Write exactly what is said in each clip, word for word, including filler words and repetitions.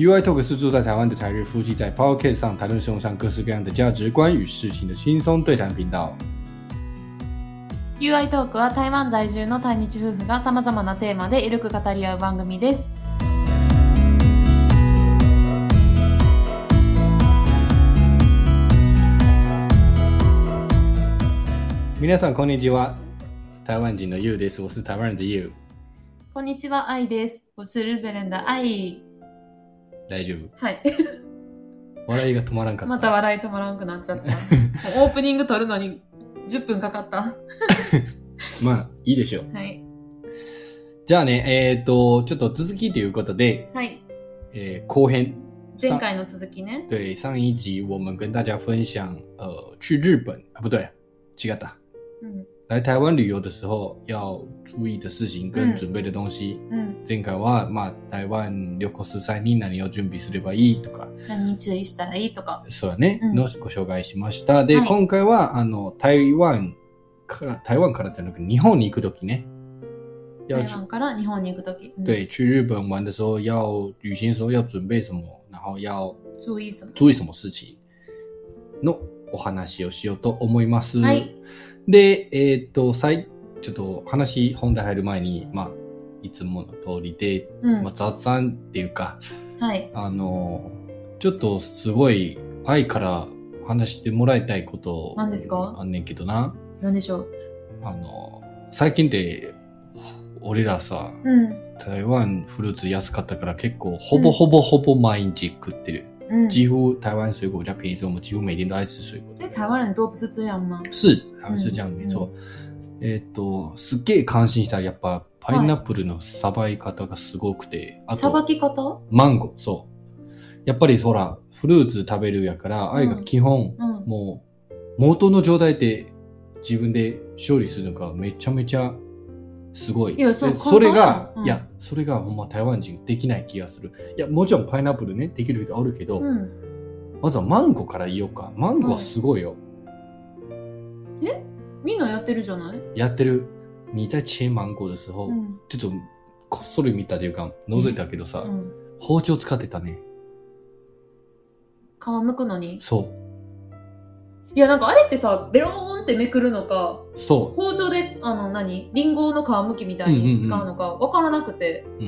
U I Talk 是住在台湾的台日夫妻在 Podcast 上谈论生活上各式各样的价值观与事情的轻松对谈频道。 ユーアイ トークは台湾在住の対日夫婦がさまざまなテーマでゆるく語り合う番組です。 皆さんこんにちは。台湾人の ユウ です。我是台湾人的 ユウ。 こんにちは、アイです。我是日本人的アイ。 大丈夫。 はい。 笑いが止まらんかった。 また笑い止まらんくなっちゃった。オープニング撮るのにじゅっぷんかかった。 まあいいでしょう。 はい。 じゃあね、えっ、ー、とちょっと続きということで、 はい。 えー、後編。 前回の続きね。 对，上一集我们跟大家分享，呃，去日本啊，不对，違った。 嗯。 来台湾旅游的时候要注意的事情跟準備的東西。 うん。 前回は、まあ、台湾旅行する際に何を準備すればいいとか。 何注意したらいいとか。 そうだね、 うん、 のご紹介しました。で、 はい、 今回は、あの、台湾から、台湾からじゃなく日本に行くときね。 台湾から日本に行くとき。 嗯、对，去日本玩的时候要旅行的时候要準備什麼，然後要注意什麼注意什麼事情のお話をしようと思います。 はい。 で、えー、っと、さいちょっと話本題入る前に、まあ、いつもの通りで、 うんまあ、雑談っていうか、 はい。 あの、ちょっとすごい愛から話してもらいたいこと何ですか？ あんねんけどな。 何でしょう？ あの、最近って俺らさ、 うん、 台湾フルーツ安かったから結構ほぼほぼほぼ毎日食ってる。 嗯、 几乎台湾水果比较便宜，所以我们几乎每天都在吃水果。 え、台湾人都不是这样吗？ 是，还是这样、没错。えっと、すっげえ感心したらやっぱパイナップルのさばい方がすごくて、 あとさばき方？ マンゴー、そう。やっぱりほら、フルーツ食べるやから、あれが基本、 うん、 もう元の状態で自分で処理するのがめちゃめちゃすごい。 いや、そう、 それが、 うん、 いや、それがほんま台湾人できない気がする。いや、もちろんパイナップルね、できる人あるけど、 うん、 まずはマンゴーから言おうか。マンゴーはすごいよ。 うん、えみんなやってるじゃない？ やってる。你在切マンゴー的時候、うん、ちょっとこっそり見たというか、覗いたけどさ、うん、包丁使ってたね。 皮むくのに？ そう。 いや、なんかあれってさ、ベローンってめくるのか、 そう。 包丁で、あの何、リンゴの皮むきみたいに使うのか、わからなくて、 うん。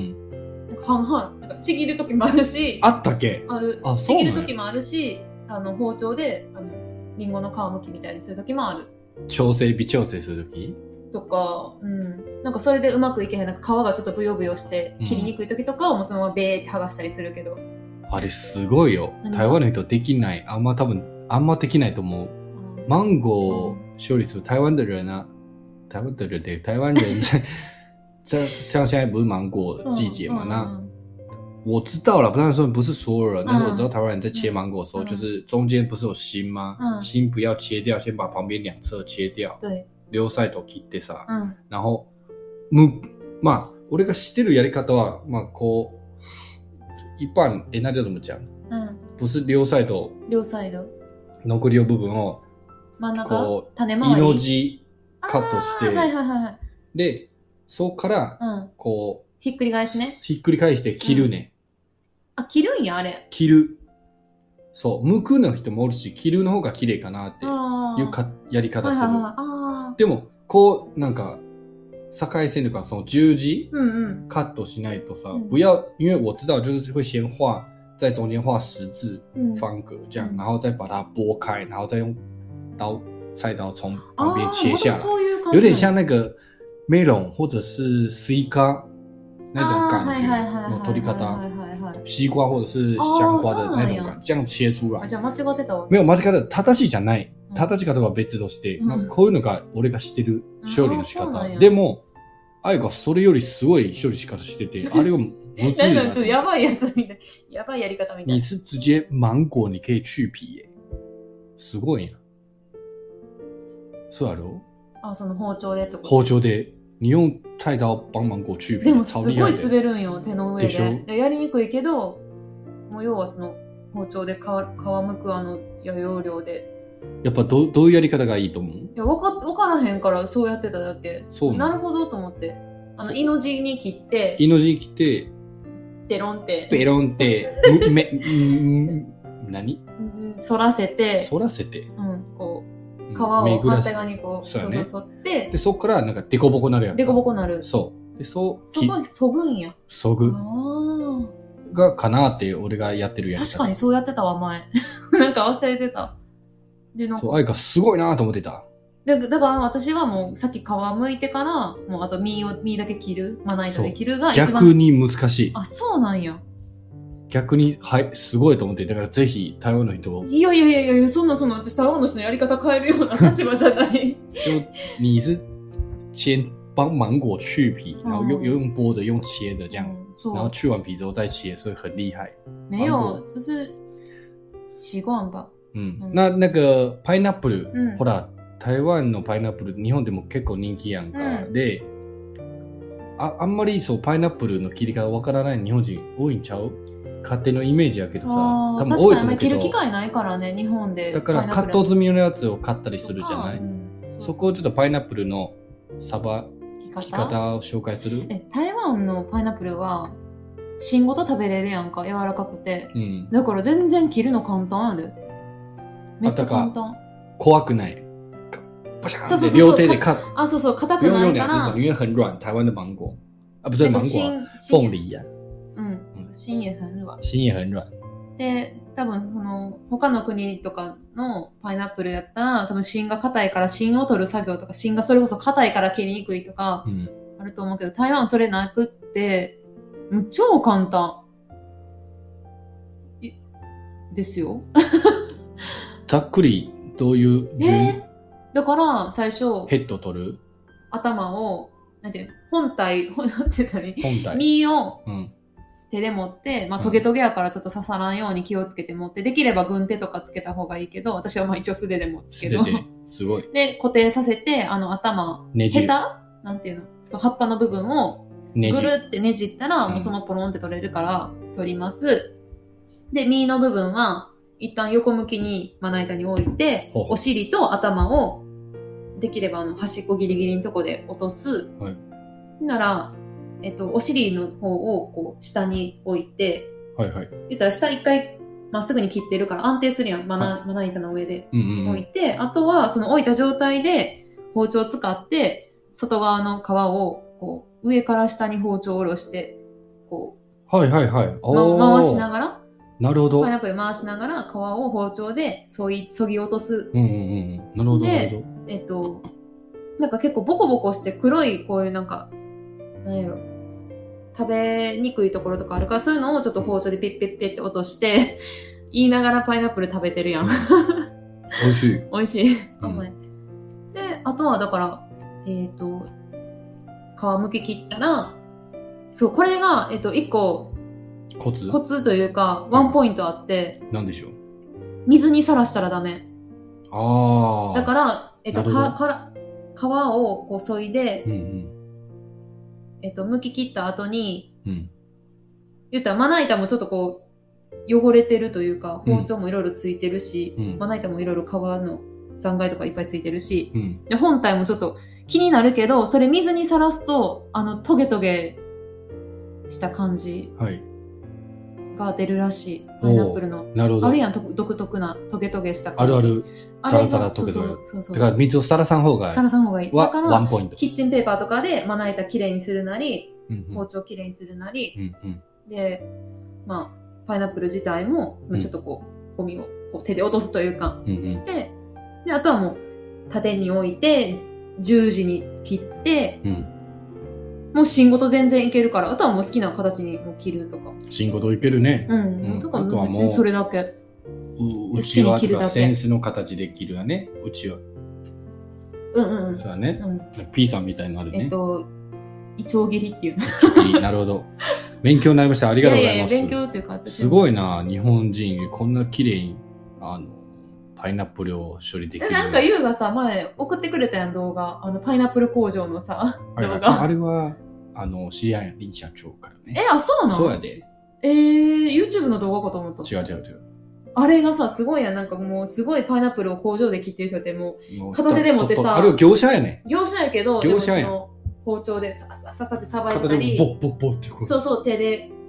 なんか半々、なんかちぎるときもあるし、 あったっけ？ ある。 あ、 ちぎるときもあるし、あの、包丁で、あの、リンゴの皮むきみたいにするときもある。 調整、微調整するとき？ とか、うん。なんかそれでうまくいけへん、なんか皮がちょっとブヨブヨして、切りにくいときとかはもうそのままベーって剥がしたりするけど。 あれすごいよ。台湾の人できない。あんま多分、あんまできないと思う。マンゴー処理是台湾的人啊，台湾的人对台湾人在像像现在不是芒果季节嘛？那我知道了，不然说不是所有人，但是我知道台湾人在切芒果的时候，就是中间不是有心吗？心不要切掉，先把旁边两侧切掉。 对， 両サイド切ってさ、然后むまあ俺が知ってるやり方はまあこう一般え那叫怎么讲？嗯，不是両サイド。 両サイド。 残りの部分を真ん中こう種回りイの字カットして、 はいはいはいはい、 でそこから、うん、こうひっくり返すね。 ひっくり返して切るね、 うん、あ、切るんやあれ。 切る。そう剥くの人もおるし切るの方が綺麗かなっていうかやり方する、はいはいはい、あでもこうなんか境線とかその十字、うんうん、カットしないとさ、うん、不要因为我知道就是会先画在中间画十字方格这样、嗯、然后再把它拨开然后再用刀菜刀从旁边切下来、啊、有点像那个 melon 或者是西瓜那种感觉の取り方、西瓜或者是香瓜的那种感觉这样切出来。 じゃあ間違ってたわ。 没有間違ってた。正しいじゃない。正しい方は別として、うん、こういうのが俺が知ってる処理の仕方。でも、あやがそれよりすごい処理仕方してて、あれをむずいな。 なんかちょっとやばいやつみたい。やばいやり方みたい。 你是直接芒果你可以去皮耶。すごいな。そうやろ？ あ、その包丁でってこと？ 包丁で。你用菜刀帮芒果去皮。 でもすごい滑るんよ、手の上で。でやりにくいけど、もう要はその包丁で皮むくあの要領で。 やっぱ ど, どういうやり方がいいと思う？いや、わか、わからへんからそうやってただけ。そうな。なるほどと思って。あの、イの字に切って。 イの字に切って、 ペロンって。 ペロンって、め、何反らせて。 反らせて。 うん、こう、皮を反対側にこう、そうそう反って。 で、そっからなんかデコボコなるやん。 デコボコなる。 そう。で、そう。 そこ、そぐんや。 そぐ。がかなって俺がやってるやつ。 確かにそうやってたわ、前。なんか忘れてた。 で、なんか。そう、あいかすごいなと思ってた。 で、だから私はもうさっき皮むいてから、もうあと身を、身だけ切る、まな板で切るが一番。 逆に難しい。 あ、そうなんや。 逆に、はい、すごいと思って、だからぜひ台湾の人を。 いやいやいやいや、そんなそんな、私台湾の人のやり方変えるような立場じゃない。 就你是先帮芒果去皮，然后又又用剥的，用切的这样，然后去完皮之后再切，所以很厉害。 没有，就是习惯吧。 嗯，那那个 pineapple，嗯，ほら。台湾のパイナップル日本でも結構人気やんか、うん、で あ, あんまりそうパイナップルの切り方わからない日本人多いんちゃう勝手のイメージやけどさ多分多いと思うけど確かに切る機会ないからね日本でだからカット済みのやつを買ったりするじゃない、うん、そ, そこをちょっとパイナップルのさばき方を紹介するえ台湾のパイナップルは芯ごと食べれるやんか柔らかくて、うん、だから全然切るの簡単やでめっちゃ簡単怖くないそうそうそう両手でカッあ、そうそう、硬くないから。 因为很软，台湾的芒果啊，不对，芒果凤梨呀。 嗯，芯也很软。 芯也很软。 で、多分その他の国とかのパイナップルやったら、多分芯が硬いから芯を取る作業とか、芯がそれこそ硬いから切りにくいとかあると思うけど、台湾それなくって、もう超簡単ですよ。 ざっくりどういう順？ えーだから最初ヘッド取る頭をなんていう本体なんて言ったらいい本体身を手で持って、うん、まあトゲトゲやからちょっと刺さらんように気をつけて持ってできれば軍手とかつけた方がいいけど私はまあ一応素手で持つけどすごいで固定させてあの頭ねじヘタなんていうのそう葉っぱの部分をぐるってねじったらもうそのポロンって取れるから取ります、うん、で身の部分は一旦横向きにまな板に置いてほうほうお尻と頭をできればあの端っこギリギリのとこで落とす、はい、なら、えっと、お尻の方をこう下に置いて、 はいはい、 言ったら下一回まっすぐに切ってるから安定するやんまな、はい、まな板の上で置いて、うんうんうん、あとはその置いた状態で包丁を使って外側の皮をこう上から下に包丁を下ろしてこう、はいはいはいま、回しながらなるほど。 パイナップル回しながら皮を包丁でそいそぎ落とす。 うんうんうん。なるほど。 で、えっと、なんか結構ボコボコして黒いこういうなんか、なんやろ、食べにくいところとかあるからそういうのをちょっと包丁でピッピッピッって落として、言いながらパイナップル食べてるやん。 美味しい。 美味しい。うん、で、あとはだから、えっと、皮むき切ったら、そう、これが、えっと、一個、 コツコツというかワンポイントあって、 はい、何でしょう水にさらしたらダメあだから、えっと、かか皮をこう削いで、うんうんえっと、剥き切った後に、うん、言ったらまな板もちょっとこう汚れてるというか包丁もいろいろついてるし、うん、まな板もいろいろ皮の残骸とかいっぱいついてるし、うん、で本体もちょっと気になるけどそれ水にさらすとあのトゲトゲした感じ、はいが出るらしいパイナップルのなるほどあるやん独特なトゲトゲした感じあるあるザラザラトゲトゲそうそうそうだから水をさらさん方がさらさん方がいいだからワンポイントキッチンペーパーとかでまな板きれいにするなり、うんうん、包丁きれいにするなり、うんうん、でまあパイナップル自体もちょっとこう、うん、ゴミをこう手で落とすというか、うんうん、してであとはもう縦に置いて十字に切って、うんもう芯ごと全然いけるから、あとはもう好きな形にもう切るとか。 芯ごといけるね。 うん。うん、とかあとはもうそれだけ。う内輪とかセンスの形で切るよね。内輪。 うんうん。 そうだね。うん、P さんみたいなのあるね。 えっと、イチョウ切りっていう。 切り、なるほど。勉強になりました。ありがとうございます。 いやいや勉強っていうか私すごいな、日本人こんな綺麗にあのパイナップルを処理できる。 なんかユウがさ前送ってくれたやん動画、あのパイナップル工場のさ、はいはい、動画。 あれは。あの、知り合いや林社長からね。 え、あ、そうなのそうやで。 えー、YouTube の動画かと思った。 違う違う違う。 あれがさ、すごいやん。なんかもう、すごいパイナップルを工場で切ってる人ってもう、片手で持ってさ。 あれは業者やね。 業者やけど、 業者やでもその包丁でささささってさばいたり。 片手でボッボッボッってこう。 そうそう、手で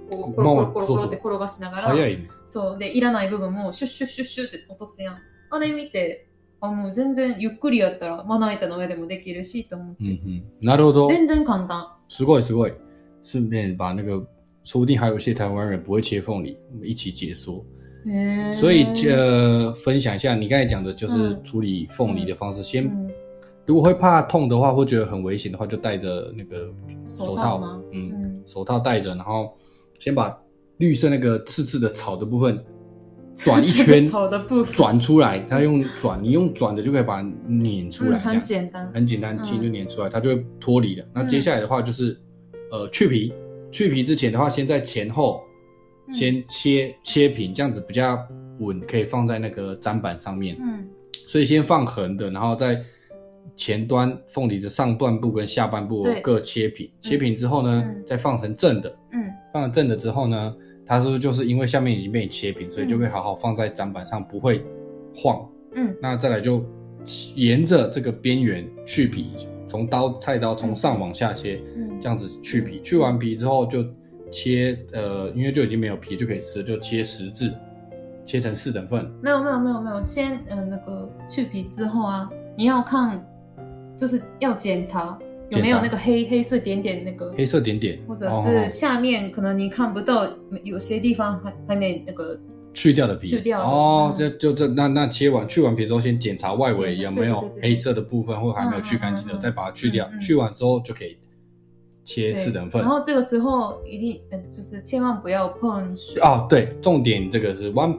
こうコロコロコロコロって転がしながら、早いね。そうでいらない部分もシュッシュッシュッシュッって落とすやん。あれ見て、あもう全然ゆっくりやったらまな板の上でもできるしと思って。嗯嗯，なるほど。 全然簡単。 すごいすごい。顺便把那个，说不定还有一些台湾人不会切凤梨，我们一起解说。所以呃，分享一下你刚才讲的，就是处理凤梨的方式。嗯、先、嗯，如果会怕痛的话，或觉得很危险的话，就戴着那个手套，手套吗？嗯，嗯手套戴着，然后先把绿色那个刺刺的草的部分转一圈，转出来。它用转，你用转的就可以把它碾出来、嗯，很简单，很简单，轻就碾出来，它就会脱离了。那接下来的话就是。呃，去皮，去皮之前的话，先在前后先切、嗯、切平，这样子比较稳，可以放在那个砧板上面。嗯，所以先放横的，然后在前端凤梨的上半部跟下半部各切平，切平之后呢、嗯，再放成正的。嗯，放成正的之后呢，它是不是就是因为下面已经被你切平，所以就会好好放在砧板上，不会晃。嗯，那再来就沿着这个边缘去皮。从刀菜刀从上往下切、嗯，这样子去皮，去完皮之后就切，呃，因为就已经没有皮就可以吃了，就切十字，切成四等份。没有没有没有没有，先呃那个去皮之后啊，你要看，就是要检查有没有那个黑黑色点点那个黑色点点，或者是下面可能你看不到，有些地方还还没那个。去掉的皮，去掉的哦，这、嗯、就这那那切完去完皮之后，先检查外围有没有黑色的部分或还没有去干净的、嗯，再把它去掉、嗯。去完之后就可以切四等份。然后这个时候一定呃，就是千万不要碰水哦。对，重点这个是 one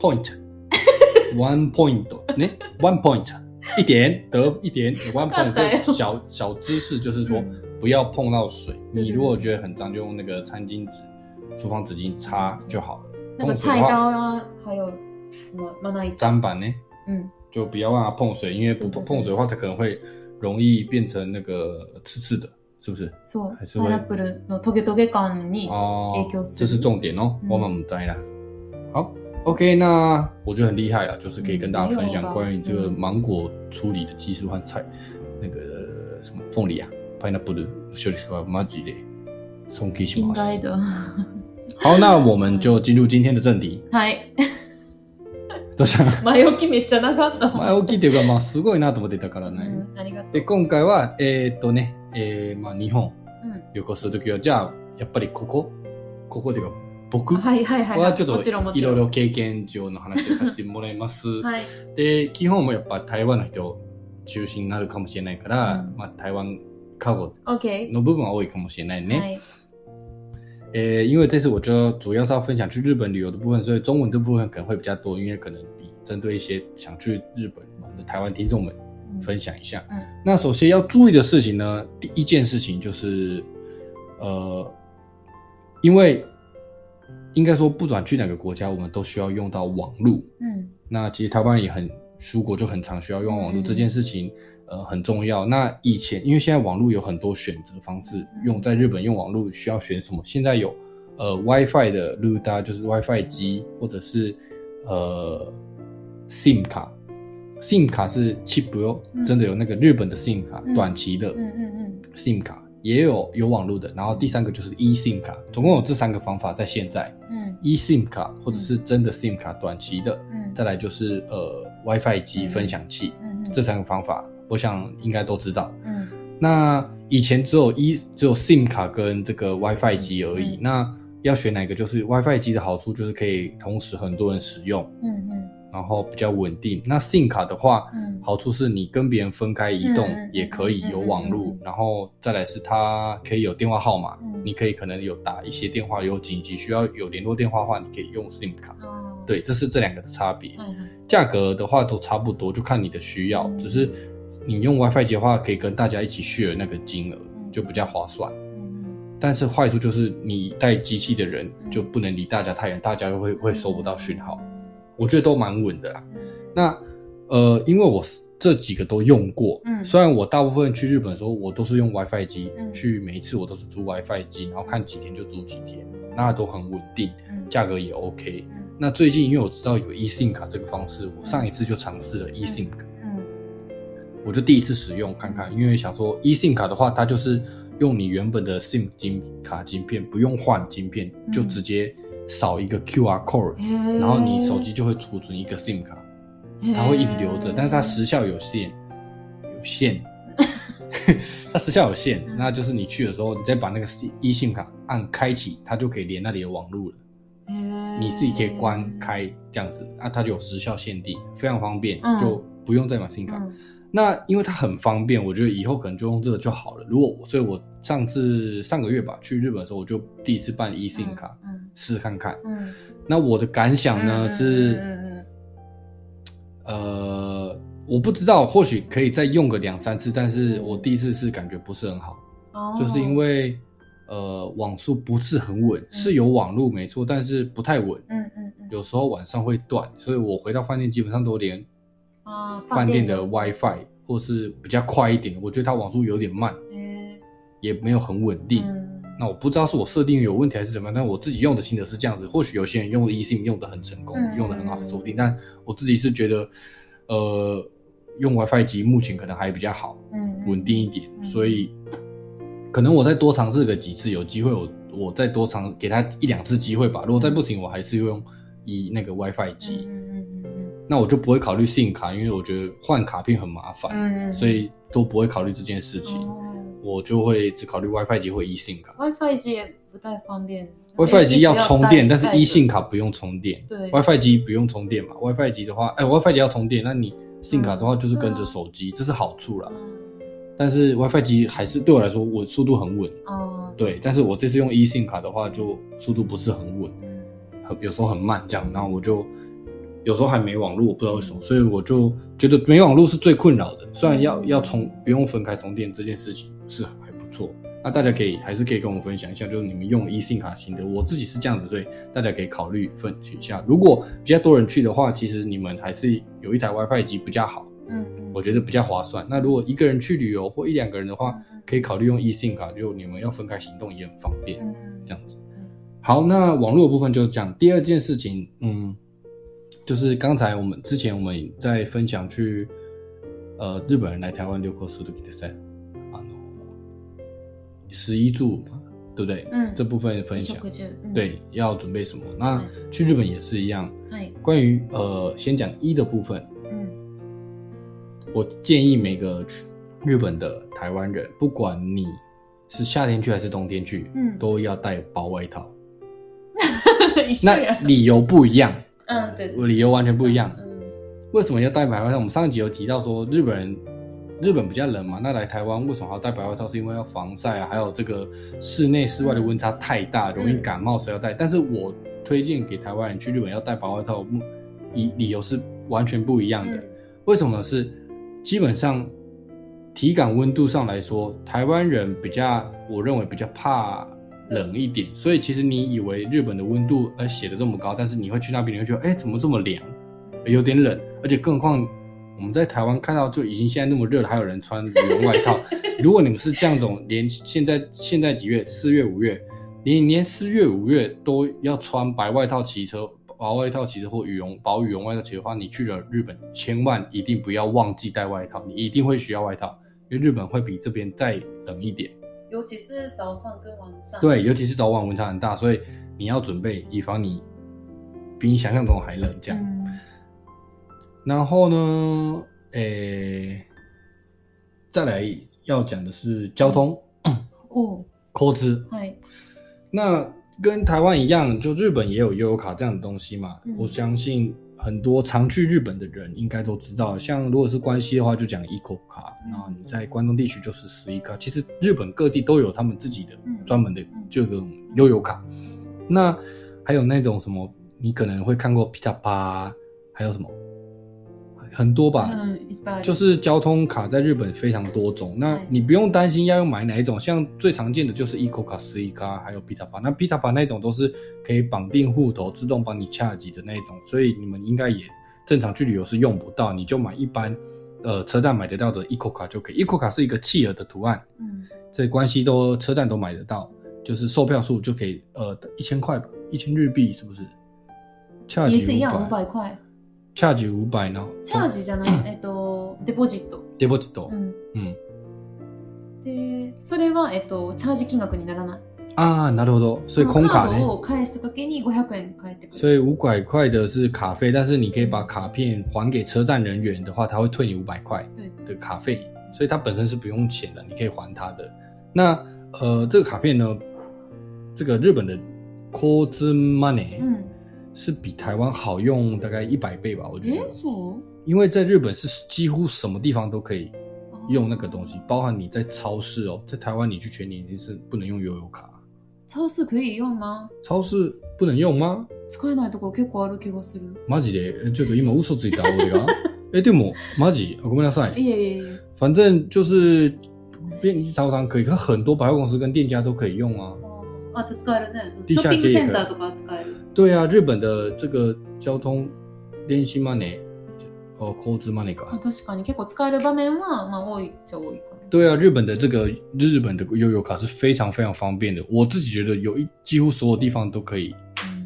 point，one point， 呢 one point， 一点得一点 one point， 这小小知识就是说、嗯、不要碰到水。你如果觉得很脏，就用那个餐巾纸、厨房纸巾擦就好了。那个菜刀啊，还有什么まな板砧板呢？嗯，就不要让它碰水，因为不碰水的话，它可能会容易变成那个刺刺的，是不是？そう。还是会。パイナップルのトゲトゲ感に影響する。这是重点哦，我们不知啦。好 ，OK， 那我觉得很厉害啦，就是可以跟大家分享关于这个芒果处理的技术和菜，那个什么凤梨啊，パイナップル処理がマジで尊敬します。应该的。好，那我们就进入今天的正題。はい。どうした？前置きめっちゃ長かった。前置きっていうか、まあすごいなと思ってたからね。うん、ありがとう。で、今回は、えー、っとね、えー、まあ日本旅行するときは、じゃあ、やっぱりここここっていうか、僕はちょっといろいろ経験上の話をさせてもらいます。はい。で、基本もやっぱ台湾の人中心になるかもしれないから、うん、まあ台湾カゴの部分は多いかもしれないね。はい。呃，因为这次我就主要是要分享去日本旅游的部分，所以中文的部分可能会比较多，因为可能比针对一些想去日本的台湾听众们分享一下。嗯嗯、那首先要注意的事情呢，第一件事情就是，呃，因为应该说不管去哪个国家，我们都需要用到网路。嗯，那其实台湾也很出国就很常需要用网路、嗯、这件事情。呃，很重要。那以前，因为现在网络有很多选择方式，用在日本用网络需要选什么？现在有呃 WiFi 的 Ruda， 就是 WiFi 机，或者是呃 SIM 卡 ，SIM 卡是 chip 哟、嗯，真的有那个日本的 SIM 卡，嗯、短期的 SIM 卡，也有有网络的。然后第三个就是 eSIM 卡，总共有这三个方法在现在。嗯 eSIM 卡或者是真的 SIM 卡，短期的。嗯，再来就是呃 WiFi 机、分享器、嗯嗯，这三个方法。我想应该都知道，嗯，那以前只有一只有 SIM 卡跟这个 WiFi 机而已、嗯，那要选哪个？就是 WiFi 机的好处就是可以同时很多人使用，嗯嗯，然后比较稳定。那 SIM 卡的话，嗯，好处是你跟别人分开移动也可以有网路、嗯，然后再来是它可以有电话号码、嗯，你可以可能有打一些电话，有紧急需要有联络电话的话，你可以用 SIM 卡。哦、对，这是这两个的差别。嗯，价格的话都差不多，就看你的需要，嗯、只是。你用 WiFi 机的话，可以跟大家一起 share 那个金额，就比较划算。嗯、但是坏处就是你带机器的人就不能离大家太远，大家会会收不到讯号。我觉得都蛮稳的啦。嗯、那呃，因为我这几个都用过、嗯，虽然我大部分去日本的时候我都是用 WiFi 机、嗯，去每一次我都是租 WiFi 机，然后看几天就租几天，那都很稳定，价格也 OK、嗯。那最近因为我知道有 eSIM 卡这个方式，我上一次就尝试了 eSIM 卡。我就第一次使用看看，因为想说 eSIM 卡的话，它就是用你原本的 SIM 晶卡晶片，不用换晶片，嗯、就直接扫一个 Q R code， 然后你手机就会储存一个 SIM 卡，它会一直留着，但是它时效有限，有限，它时效有限，那就是你去的时候，你再把那个 eSIM 卡按开启，它就可以连那里的网路了。你自己可以关开这样子，啊，它就有时效限定，非常方便，嗯、就不用再买 SIM 卡。嗯、那因为它很方便，我觉得以后可能就用这个就好了。如果所以，我上次上个月吧去日本的时候，我就第一次办 eSIM 卡，嗯嗯、试试看看。嗯、那我的感想呢、嗯、是，嗯、呃，我不知道，或许可以再用个两三次，但是我第一次是感觉不是很好，哦、就是因为。呃，网速不是很稳，嗯、是有网路没错，但是不太稳。嗯嗯嗯，有时候晚上会断，所以我回到饭店基本上都连啊饭店的 WiFi 或是比较快一点，我觉得它网速有点慢，嗯、也没有很稳定。嗯、那我不知道是我设定有问题还是怎么样，但我自己用的心得是这样子。或许有些人用 eSIM 用的很成功，嗯、用的很好的锁定，但我自己是觉得，呃，用 WiFi 机目前可能还比较好，嗯，稳定一点，嗯、所以。可能我再多尝试个几次，有机会我我再多尝给他一两次机会吧。如果再不行，我还是用以那个 WiFi 机。嗯嗯嗯嗯。那我就不会考虑 SIM 卡，因为我觉得换卡片很麻烦，嗯、所以都不会考虑这件事情。哦、我就会只考虑 WiFi 机或 eSIM 卡。 WiFi 机也不太方便。 WiFi 机要充电，但是 eSIM 卡不用充电。对。WiFi 机不用充电嘛 ？WiFi 机的话，哎 ，WiFi 机要充电，那你 SIM 卡的话就是跟着手机，嗯、这是好处啦。嗯但是 WiFi 机还是对我来说，我速度很稳。哦。对，但是我这次用 eSIM 卡的话，就速度不是很稳，很有时候很慢这样，然后我就有时候还没网路，我不知道为什么，所以我就觉得没网路是最困扰的。虽然要要充不用分开充电这件事情是还不错，那大家可以还是可以跟我分享一下，就是你们用 eSIM 卡型的，我自己是这样子，所以大家可以考虑分析一下。如果比较多人去的话，其实你们还是有一台 WiFi 机比较好。嗯，我觉得比较划算。那如果一个人去旅游或一两个人的话，嗯、可以考虑用 eSIM 卡，就你们要分开行动也很方便。嗯、这样子。好，那网络的部分就是这样。第二件事情，嗯，就是刚才我们之前我们在分享去呃日本人来台湾旅行する時ですね、あの食衣住嘛，对不对？嗯，这部分分享，嗯、对，要准备什么？那去日本也是一样。嗯、关于呃，先讲衣的部分。我建议每个日本的台湾人，不管你是夏天去还是冬天去，嗯、都要带薄外套。那理由不一样，嗯，对对，理由完全不一样。嗯，为什么要带白外套？我们上一集有提到说，日本人日本比较冷嘛，那来台湾为什么还要带白外套？是因为要防晒啊，还有这个室内室外的温差太大，容易感冒，所以要带。但是我推荐给台湾人去日本要带白外套，理理由是完全不一样的。嗯、为什么呢？是基本上体感温度上来说，台湾人比较，我认为比较怕冷一点，所以其实你以为日本的温度呃写的这么高，但是你会去那边你会觉得哎怎么这么凉，有点冷，而且更何况我们在台湾看到就已经现在那么热了，还有人穿羽绒外套。如果你们是这样种，连现在现在几月？四月五月，连连四月五月都要穿白外套骑车。薄外套骑车或羽绒薄羽绒外套骑的话，你去了日本千万一定不要忘记带外套，你一定会需要外套，因为日本会比这边再冷一点， 尤其是早上跟晚上。 对，尤其是早晚温差很大，所以你要准备，以防你比你想象中还冷这样。嗯、然后呢，诶，再来要讲的是交通。哦，交通。はい。那跟台湾一样，就日本也有悠游卡这样的东西嘛。嗯、我相信很多常去日本的人应该都知道，像如果是关西的话，就讲 Eco 卡，然后你在关东地区就是十一卡。其实日本各地都有他们自己的专门的这种悠游卡。那还有那种什么，你可能会看过 Pitapa， 还有什么很多吧，嗯、就是交通卡在日本非常多种。那你不用担心要用买哪一种，像最常见的就是 Eco 卡、十一卡，还有 Pitapa。那 Pitapa 那种都是可以绑定户头，自动帮你恰吉的那种，所以你们应该也正常去旅游是用不到，你就买一般呃车站买得到的 Eco 卡就可以。Eco 卡是一个企鹅的图案，嗯，在关西都车站都买得到，就是售票数就可以呃一千块吧，一千日币是不是？恰吉也是一样五百块。 チャージ五百の。 チャージじゃない、えっと、デポジット。 デポジット。うん。うん。 で、それは、えっと、チャージ金額にならない。 啊，なるほど。所以空卡呢？ カードを返した時にごひゃくえん返ってくる。 所以五百块的是卡费，但是你可以把卡片还给车站人员的话，他会退你五百块的卡费，所以它本身是不用钱的，你可以还他的。那呃，这个卡片呢，这个日本的 Coz Money，嗯，是比台湾好用大概一百倍吧，我觉得。因为在日本是几乎什么地方都可以用那个东西，包含你在超市哦，在台湾你去全年已经是不能用悠游卡。 超市可以用吗？ 超市不能用吗？ 使えないとこ結構ある気がする。 マジで？ちょっと今嘘ついた俺が。えでもマジ？ごめんなさい。 いえいえ。 反正就是便利超商可以，可很多百货公司跟店家都可以用啊。 あ、使えるね。ショッピングセンターとか使える。 对啊，日本的这个交通電子マネー。哦，交通マネーか。 確かに結構使える場面はまあ多いっちゃ多いかな。 对啊，日本的这个日本的悠游卡是非常非常方便的，我自己觉得有一几乎所有地方都可以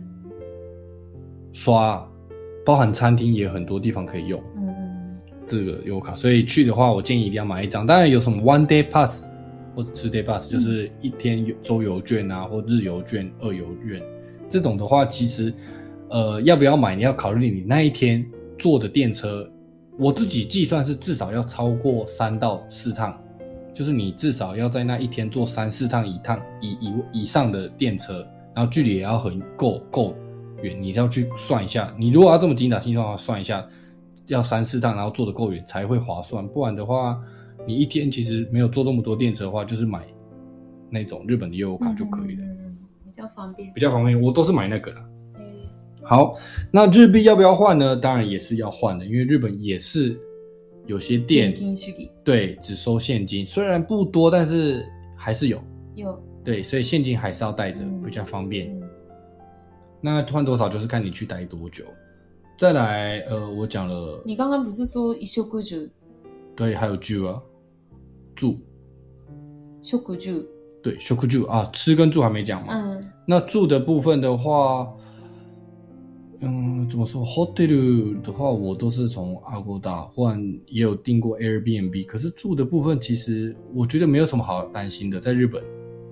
刷，包含餐厅也很多地方可以用这个悠游卡，所以去的话我建议一定要买一张。当然有什么 one day pass 或者 two day pass， 就是一天周游券啊，或日游券、二游券这种的话，其实呃要不要买你要考虑你那一天坐的电车，我自己计算是至少要超过三到四趟，就是你至少要在那一天坐三四趟以趟以以以上的电车，然后距离也要很够够远，你要去算一下。你如果要这么精打细算的话，算一下要三四趟，然后坐得够远才会划算。不然的话，你一天其实没有坐这么多电车的话，就是买那种日本的悠游卡就可以了， 嗯，比较方便， 比较方便。我都是买那个啦。好，那日币要不要换呢？当然也是要换的，因为日本也是有些店对只收现金，虽然不多，但是还是有有对，所以现金还是要带着，比较方便。嗯、那换多少就是看你去待多久。再来，呃，我讲了， 你刚刚不是说一食住？ 对，还有住啊，住， 食住， 对，食住啊，吃跟住还没讲嘛。嗯，那住的部分的话。嗯，怎么说 ？hotel 的话，我都是从 Agoda 换，也有订过 Airbnb。可是住的部分，其实我觉得没有什么好担心的，在日本。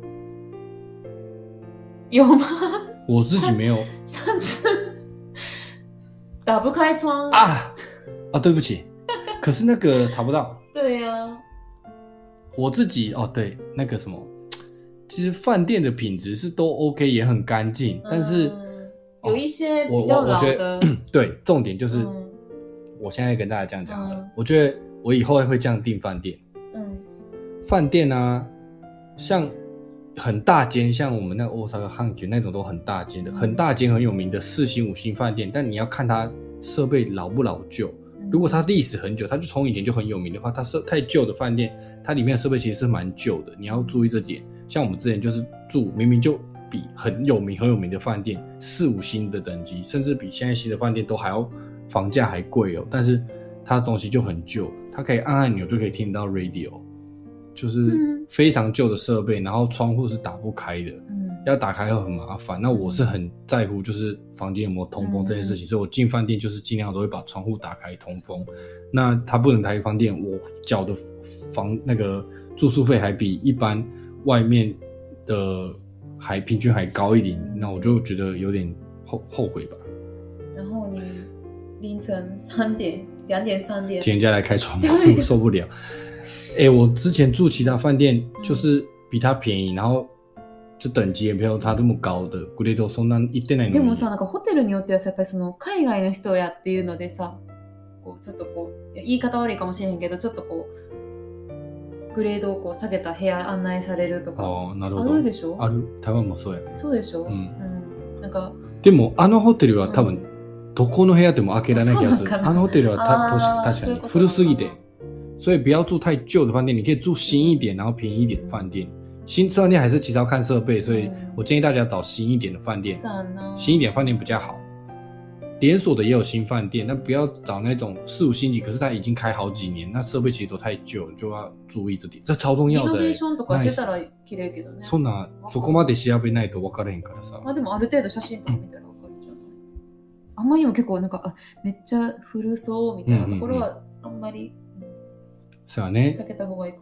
有吗？ 我自己没有。 上次打不开窗啊啊！对不起，可是那个查不到。 对呀、啊。 我自己哦，对，那个什么，其实饭店的品质是都 OK， 也很干净，嗯、但是。 有一些比较老的， 对，重点就是，嗯、我现在跟大家这样讲了、嗯，我觉得我以后会这样订饭店。嗯，饭店啊，像很大间，像我们那个大阪阪急那种都很大间的，很大间很有名的四星五星饭店，但你要看它设备老不老旧。如果它历史很久，它就从以前就很有名的话，它设太旧的饭店，它里面的设备其实是蛮旧的，你要注意这点。像我们之前就是住明明就。比很有名很有名的饭店四五星的等级，甚至比现在新的饭店都还要房价还贵哦。但是它的东西就很旧，它可以按按钮就可以听到 radio， 就是非常旧的设备，然后窗户是打不开的，嗯、要打开会很麻烦。那我是很在乎就是房间有没有通风这件事情，嗯、所以我进饭店就是尽量都会把窗户打开通风。那它不能开饭店，我缴的房那个住宿费还比一般外面的。还平均还高一点，那我就觉得有点后后悔吧。 然后你凌晨三点、两点、三点， 请人家来开窗户，受不了。哎、欸，我之前住其他饭店，就是比它便宜，然后就等级也没有它这么高的。グレードそんな言ってないのに。 でもさ、なんかホテルによってはさ、やっぱりその海外の人やっていうのでさ、こうちょっとこう言い方悪いかもしれへんけど、ちょっとこう。グレードをこう下げた部屋案内されるとかあなるほどあるでしょ。 ある。台湾もそうや。 そうでしょ。うん。うん、なんかでもあのホテルは多分、うん、どこの部屋でも開けられない気がする。あのホテルはた確かに古すぎて，所以不要住太旧的饭店，你可以住新一点，然后便宜一点的饭店。新饭店还是其实要看设备，所以我建议大家找新一点的饭店。嗯、新一点饭店比较好。连锁的也有新饭店，但不要找那种四五星级，可是它已经开好几年，那设备其实都太旧了，就要注意这点。这超重要的、欸。リノベーションとかしてたら綺麗けどね。そんなそこまで調べないと分からへんからさ。 まあでもある程度写真とか見たら分かるじゃない。あんまりにも結構なんかあめっちゃ古そうみたいなところはあんまり、 そうやね。 避けた方がいいかも。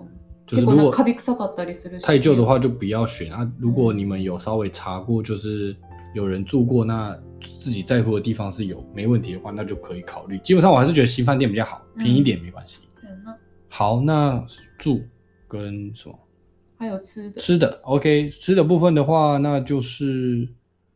就是如果カビ臭かったりするし太旧的话就不要选啊。如果你们有稍微查过，就是有人住过，那自己在乎的地方是有没问题的话，那就可以考虑。基本上我还是觉得新饭店比较好，便宜一点没关系。 嗯、 好，那住跟什么？ 还有吃的。 吃的 OK， 吃的部分的话，那就是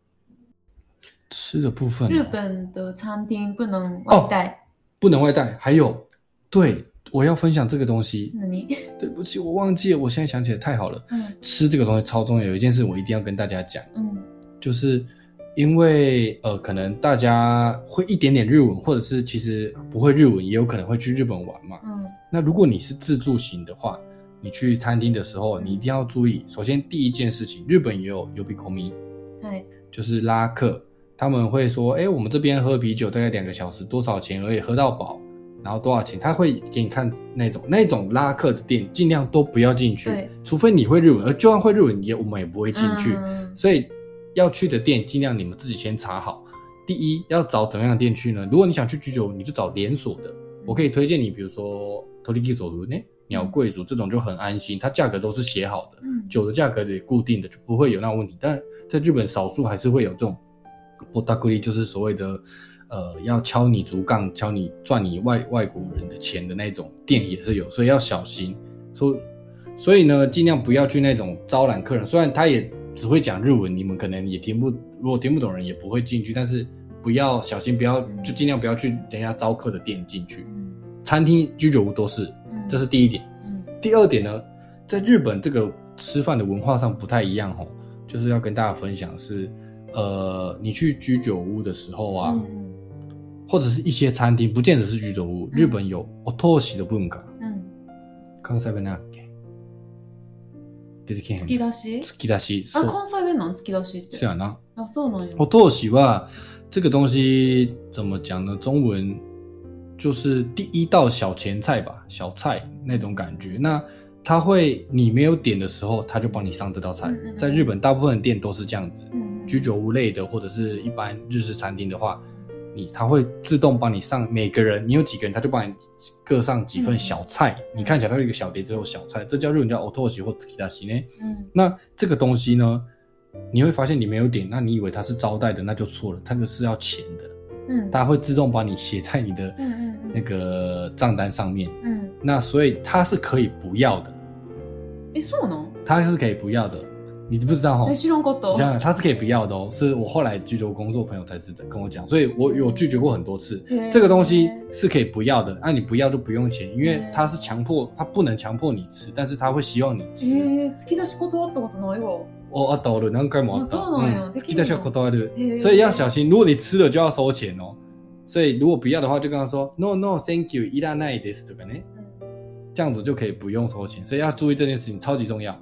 吃的部分、哦。 日本的餐厅不能外带、哦， 不能外带。还有，对，我要分享这个东西。 那你对不起，我忘记了，我现在想起来太好了。 嗯， 吃这个东西超重要，有一件事我一定要跟大家讲。 嗯， 就是因为呃，可能大家会一点点日文，或者是其实不会日文，也有可能会去日本玩嘛。 嗯， 那如果你是自助型的话，你去餐厅的时候，你一定要注意。首先第一件事情，日本也有呼び込み， 对， 就是拉客。他们会说，哎，我们这边喝啤酒大概两个小时，多少钱而已，喝到饱，然后多少钱？他会给你看那种那种拉客的店，尽量都不要进去，除非你会日文，而就算会日文，也我们也不会进去。嗯、所以要去的店，尽量你们自己先查好。第一，要找怎么样的店去呢？如果你想去居酒屋，你就找连锁的。我可以推荐你，比如说Toriki Zoru呢，鸟贵族这种就很安心，它价格都是写好的，嗯、酒的价格也固定的，就不会有那种问题。但在日本，少数还是会有这种。波达库利就是所谓的，呃，要敲你竹杠、敲你赚你外外国人的钱的那种店也是有，所以要小心。所所以呢，尽量不要去那种招揽客人。虽然他也只会讲日文，你们可能也听不，如果听不懂人也不会进去，但是不要小心，不要就尽量不要去人家招客的店进去。餐厅、居酒屋都是，这是第一点。第二点呢，在日本这个吃饭的文化上不太一样吼，就是要跟大家分享是。呃，你去居酒屋的时候啊，嗯、或者是一些餐厅，不见得是居酒屋。嗯、日本有お通しの文化。嗯。関西弁なんだっけ？出てけへん。 突き出し？ 突き出し。 あ、関西弁なん突き出しって。 そうやな。 あ、そうなんや。 お通しは这个东西怎么讲呢？中文就是第一道小前菜吧，小菜那种感觉。那他会，你没有点的时候，他就帮你上这道菜。嗯嗯嗯在日本，大部分的店都是这样子。嗯居酒屋类的或者是一般日式餐厅的话，你他会自动帮你上每个人，你有几个人，他就帮你各上几份小菜。嗯、你看起来它有一个小碟子有小菜，这叫日文叫お通し或突き出し呢。嗯，那这个东西呢，你会发现你没有点，那你以为它是招待的，那就错了，它个是要钱的。嗯，它会自动帮你写在你的那个账单上面。嗯，那所以它是可以不要的。 诶，そうなの？ 它是可以不要的。你知不知道哈？ 没知道过的。 想想，他是可以不要的哦，是我后来居酒屋工作朋友才是的跟我讲，所以我有拒绝过很多次。这个东西是可以不要的，那、啊、你不要就不用钱，因为他是强迫，他不能强迫你吃，但是他会希望你吃。 えー、突き出し断ったことないわ。 哦，あったある、何回もあった。 そうなんや。 突き出しは断る。所以要小心，如果你吃了就要收钱哦。所以如果不要的话，就跟他说 no no thank you いらないですとかね，这样子就可以不用收钱。所以要注意这件事情，超级重要。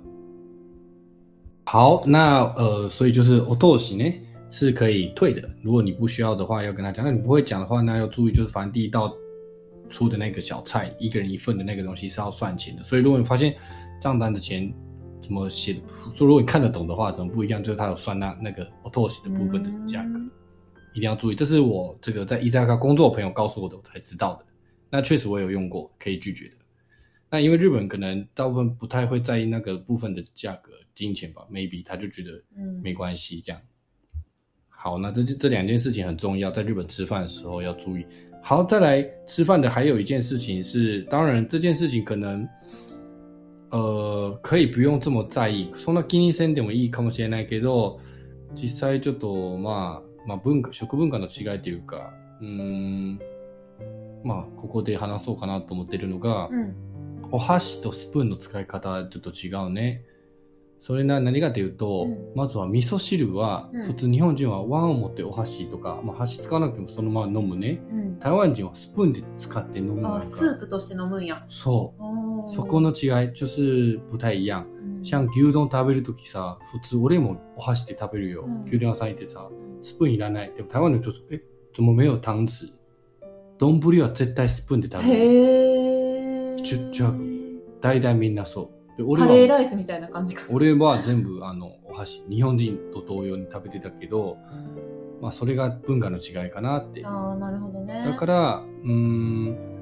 好，那呃，所以就是お通し呢是可以退的，如果你不需要的话，要跟他讲。那你不会讲的话，那要注意，就是反正第一道出的那个小菜，一个人一份的那个东西是要算钱的。所以如果你发现账单的钱怎么写的，说如果你看得懂的话，怎么不一样？就是他有算那那个お通し的部分的价格，嗯、一定要注意。这是我这个在伊扎卡工作的朋友告诉我的，我才知道的。那确实我有用过，可以拒绝的。那因为日本可能大部分不太会在意那个部分的价格金钱吧 ，maybe 他就觉得没关系这样。嗯、好，那这这两件事情很重要，在日本吃饭的时候要注意。好，再来吃饭的还有一件事情是，当然这件事情可能呃可以不用这么在意，そんな気にせんでもいいかもしれないけど、実際ちょっとまあまあ文化食文化の違いというか、うーんまあここで話そうかなと思ってるのが。うんお箸とスプーンの使い方ちょっと違うね。それな何かというと、うん、まずは味噌汁は、うん、普通日本人は碗を持ってお箸とか、まあ、箸使わなくてもそのまま飲むね、うん、台湾人はスプーンで使って飲むのか。 あ、スープとして飲むんや。 そう。そこの違い就是不太一样。嗯、像牛丼食べるときさ、普通俺もお箸で食べるよ。うん、牛丼屋さん行ってさ、スプーンいらない。でも台湾の人说、え、怎么没有汤匙？丼は絶対スプーンで食べる。 へー。 ちゅちゅ大体みんなそう。 俺はカレーライスみたいな感じか。 俺は全部あのお箸、日本人と同様に食べてたけど、まあそれが文化の違いかなって。 ああ、なるほどね。 だから、うーん、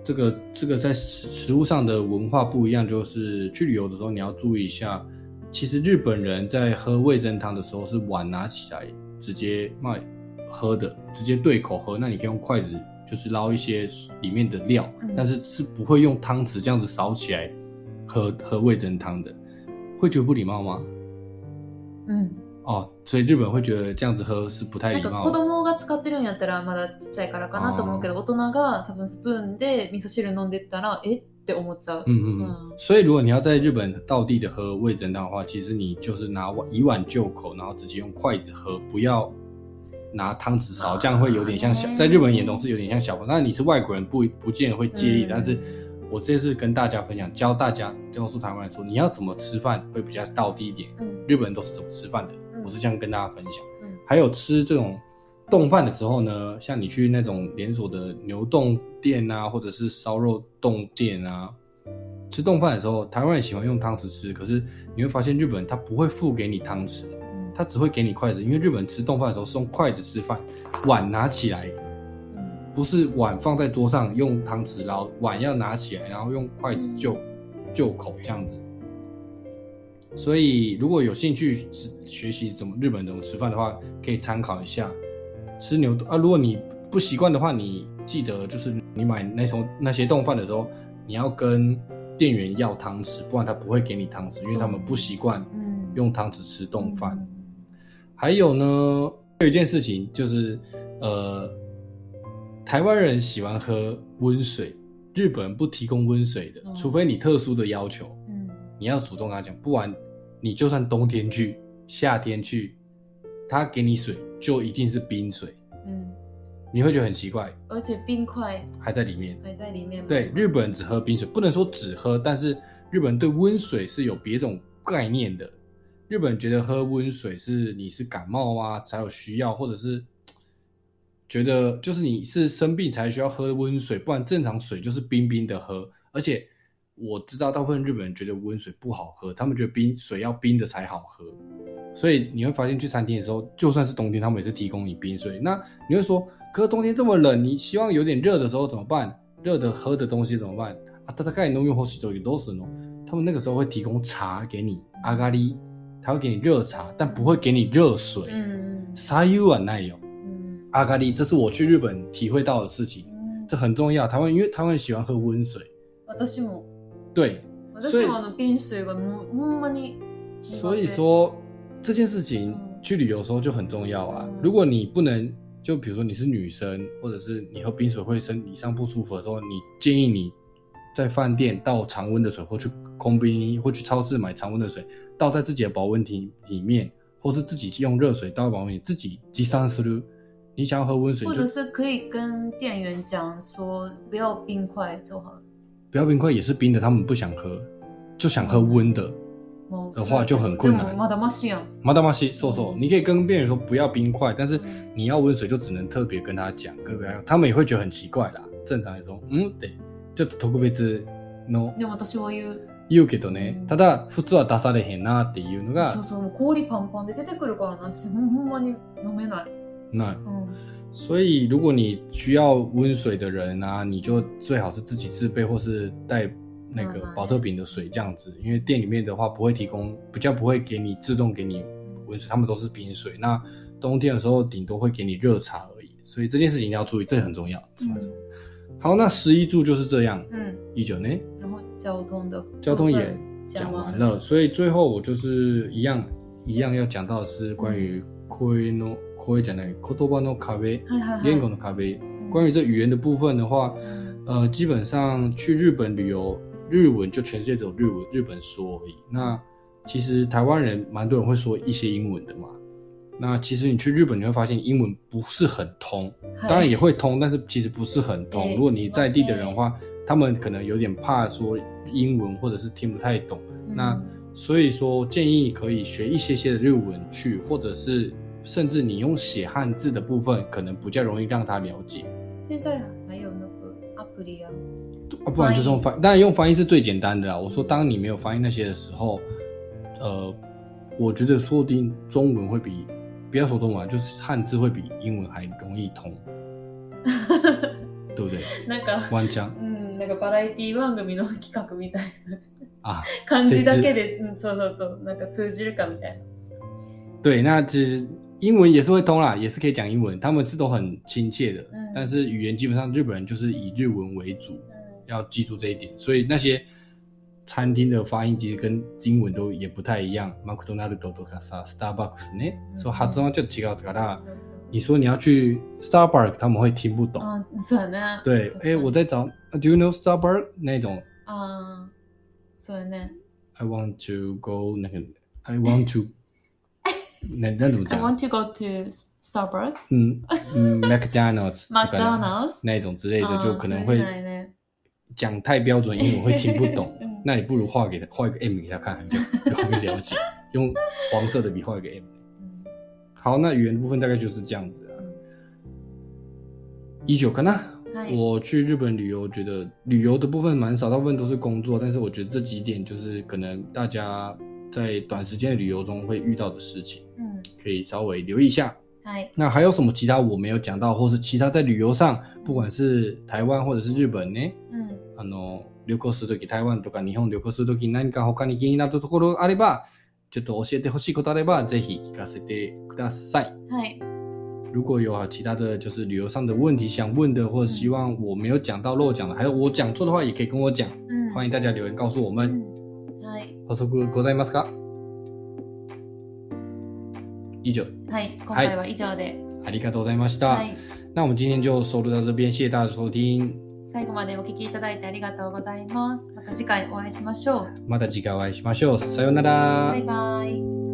这个这个在食物上的文化不一样，就是去旅游的时候你要注意一下，其实日本人在喝味噌汤的时候是碗拿起来直接卖喝的，直接对口喝，那你可以用筷子就是捞一些里面的料，嗯、但是是不会用汤匙这样子扫起来喝喝味噌汤的，会觉得不礼貌吗？嗯。哦，所以日本会觉得这样子喝是不太礼貌的。 なんか子供が使ってるんやったらまだちっちゃいからかなと思うけど、大人が多分スプーンで味噌汁飲んでったらえって思っちゃう。 嗯嗯嗯。所以如果你要在日本道地的喝味噌汤的话，其实你就是拿以碗就口，然后直接用筷子喝，不要拿汤匙勺，这样会有点像小，在日本人眼中是有点像小朋友。那你是外国人不不见得会介意，嗯、但是我这次跟大家分享，教大家告诉台湾人说，你要怎么吃饭会比较道地一点。嗯、日本人都是怎么吃饭的。我是这样跟大家分享，嗯、还有吃这种冻饭的时候呢，像你去那种连锁的牛冻店啊，或者是烧肉冻店啊，吃冻饭的时候，台湾人喜欢用汤匙吃，可是你会发现日本人他不会付给你汤匙，嗯、他只会给你筷子，因为日本人吃冻饭的时候是用筷子吃饭，碗拿起来，嗯、不是碗放在桌上用汤匙捞，碗要拿起来，然后用筷子就就口这样子。所以如果有兴趣学习怎么日本怎么吃饭的话，可以参考一下吃牛啊。如果你不习惯的话，你记得就是你买那种那些冻饭的时候，你要跟店员要汤匙，不然他不会给你汤匙，因为他们不习惯用汤匙吃冻饭。嗯、还有呢，有一件事情就是呃，台湾人喜欢喝温水，日本人不提供温水的，嗯、除非你特殊的要求，嗯、你要主动跟他讲，不然。你就算冬天去夏天去他给你水就一定是冰水，嗯，你会觉得很奇怪， 而且冰块还在里面还在里面。 对，日本人只喝冰水，不能说只喝，但是日本人对温水是有别种概念的。日本人觉得喝温水是你是感冒啊才有需要，或者是觉得就是你是生病才需要喝温水，不然正常水就是冰冰的喝。而且我知道大部分日本人觉得温水不好喝，他们觉得冰水要冰的才好喝，所以你会发现去餐厅的时候，就算是冬天他们也是提供你冰水。那你会说，可是冬天这么冷，你希望有点热的时候怎么办？热的喝的东西怎么办？啊，大概飲み干しというどうするの？他们那个时候会提供茶给你，阿咖喱，他会给你热茶，但不会给你热水。嗯，茶湯はないよ。嗯，阿咖喱，这是我去日本体会到的事情，嗯、这很重要。台湾因为台湾喜欢喝温水。 私も。 对， 私もあの冰水がもうほんまに。 所以说这件事情去旅游的时候就很重要啊。嗯、如果你不能，就比如说你是女生，或者是你喝冰水会身体上不舒服的时候，你建议你在饭店倒常温的水，或去コンビニ或去超市买常温的水，倒在自己的保温瓶里面，或是自己用热水倒保温瓶，自己持参する。你想要喝温水， 或者是可以跟店员讲说不要冰块就好了。 不要冰块也是冰的，他们不想喝，就想喝温的、嗯、的话就很困难。 まだましやん。 まだまし，そうそう。你可以跟店员说不要冰块，但是你要温水就只能特别跟他讲，跟他们也会觉得很奇怪啦。正常来说，嗯，对，ちょっと特別の。 でも私は言う。 言うけどね。ただ普通は出されへんなっていうのが。 そうそう、もう氷パンパンで出てくるからな、私ほんまに飲めない。 ない。嗯。所以如果你需要温水的人啊，你就最好是自己自备或是带那个保特瓶的水这样子，因为店里面的话不会提供，比较不会给你自动给你温水，他们都是冰水。那冬天的时候顶多会给你热茶而已，所以这件事情一定要注意，这很重要。嗯、好，那食衣住就是这样。嗯，一九呢， 然后交通的交通也讲完了，所以最后我就是一样一样要讲到的是关于声の声じゃない言葉の壁、言語の壁。关于这语言的部分的话，呃，基本上去日本旅游，日文就全世界只有日文日本说而已。那其实台湾人蛮多人会说一些英文的嘛。那其实你去日本你会发现英文不是很通，当然也会通，但是其实不是很通。如果你在地的人的话，他们可能有点怕说英文或者是听不太懂。那所以说建议可以学一些些的日文去，或者是甚至你用写汉字的部分可能比较容易让他了解。 现在还有那个 app 啊， 啊，不然就是用翻译，当然用翻译是最简单的啦。我说当你没有翻译那些的时候，呃，我觉得说不定中文会比，不要说中文，就是汉字会比英文还容易通，对不对？ なんかワンチャン。 うん、 なんかバラエティ番組の企画みたいな感じだけで、嗯，そうそうとなんか通じるかみたいな。 对，那其实英文也是会通啦，也是可以讲英文，他们是都很亲切的，嗯、但是语言基本上日本人就是以日文为主，嗯、要记住这一点。所以那些餐厅的发音其实跟英文都也不太一样。マクドナルドとかさ、スターバックスね、嗯、そう発音はちょっと違うから、你说你要去 Starbucks， 他们会听不懂。 嗯，そうね。 对，哎，我在找 ，Do you know Starbucks 那种？ 啊，そうね。 I want to go 那个 ，I want to 那那怎么讲 ？I want to go to Starbucks。 嗯嗯 ，McDonald's。 McDonald's 那一种之类的，就可能会讲太标准英文会听不懂。那你不如画给他，画一个 M 给他看，就容易了解。用黄色的笔画一个 M。好，那语言部分大概就是这样子啊。以上かな。我去日本旅游，觉得旅游的部分蛮少，大部分都是工作。但是我觉得这几点就是可能大家在短时间的旅游中会遇到的事情，嗯，可以稍微留意一下。那还有什么其他我没有讲到，或是其他在旅游上，不管是台湾或者是日本呢？嗯，あの旅行するとき、台湾とか日本旅行するとき、何か他に気になったところあれば、ちょっと教えてほしいことあれば、ぜひ聞かせてください。はい。如果有其他的就是旅游上的问题想问的，或者希望我没有讲到漏讲的，还有我讲错的话，也可以跟我讲。嗯，欢迎大家留言告诉我们。嗯、はい。補足ございますか？以上。はい、今回は以上で。ありがとうございました。はい。那我们今天就收录到这边，谢谢大家的收听。 最後までお聞きいただいてありがとうございます。また次回お会いしましょう。 また次回お会いしましょう。さようなら。 バイバイ。